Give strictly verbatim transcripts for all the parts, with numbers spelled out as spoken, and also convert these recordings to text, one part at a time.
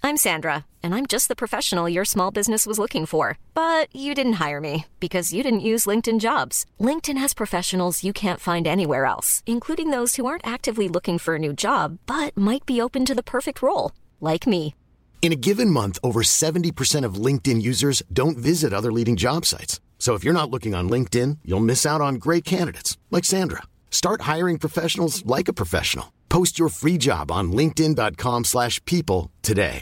I'm Sandra, and I'm just the professional your small business was looking for. But you didn't hire me because you didn't use LinkedIn Jobs. LinkedIn has professionals you can't find anywhere else, including those who aren't actively looking for a new job, but might be open to the perfect role, like me. In a given month, over seventy percent of LinkedIn users don't visit other leading job sites. So if you're not looking on LinkedIn, you'll miss out on great candidates like Sandra. Start hiring professionals like a professional. Post your free job on linkedin dot com slash people today.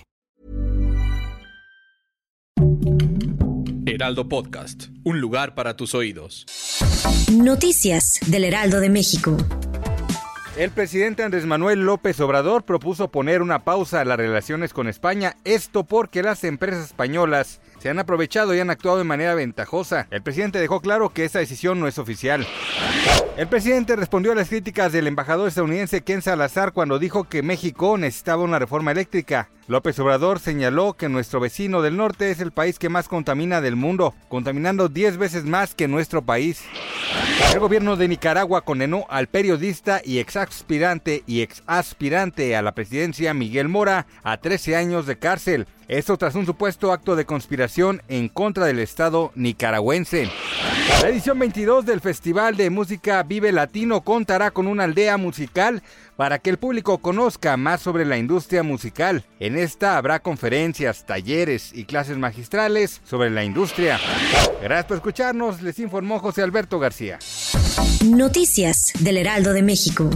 Heraldo Podcast, un lugar para tus oídos. Noticias del Heraldo de México. El presidente Andrés Manuel López Obrador propuso poner una pausa a las relaciones con España, esto porque las empresas españolas se han aprovechado y han actuado de manera ventajosa. El presidente dejó claro que esa decisión no es oficial. El presidente respondió a las críticas del embajador estadounidense Ken Salazar cuando dijo que México necesitaba una reforma eléctrica. López Obrador señaló que nuestro vecino del norte es el país que más contamina del mundo, contaminando diez veces más que nuestro país. El gobierno de Nicaragua condenó al periodista y exaspirante y exaspirante a la presidencia Miguel Mora a trece años de cárcel. Esto tras un supuesto acto de conspiración en contra del Estado nicaragüense. La edición veintidós del Festival de Música Vive Latino contará con una aldea musical para que el público conozca más sobre la industria musical. En esta habrá conferencias, talleres y clases magistrales sobre la industria. Gracias por escucharnos, les informó José Alberto García. Noticias del Heraldo de México.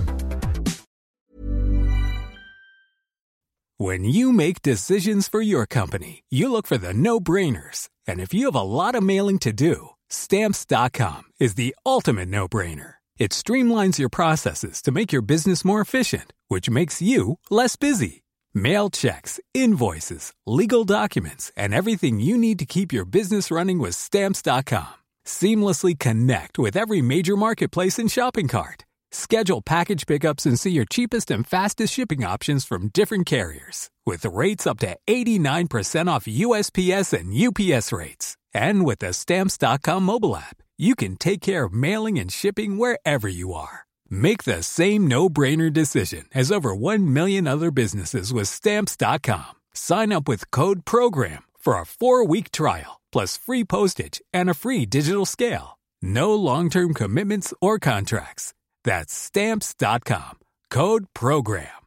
When you make decisions for your company, you look for the no-brainers. And if you have a lot of mailing to do, Stamps dot com is the ultimate no-brainer. It streamlines your processes to make your business more efficient, which makes you less busy. Mail checks, invoices, legal documents, and everything you need to keep your business running with Stamps dot com. Seamlessly connect with every major marketplace and shopping cart. Schedule package pickups and see your cheapest and fastest shipping options from different carriers, with rates up to eighty-nine percent off U S P S and U P S rates. And with the Stamps dot com mobile app, you can take care of mailing and shipping wherever you are. Make the same no-brainer decision as over one million other businesses with Stamps dot com. Sign up with code PROGRAM for a four-week trial, plus free postage and a free digital scale. No long-term commitments or contracts. That's Stamps dot com. Code PROGRAM.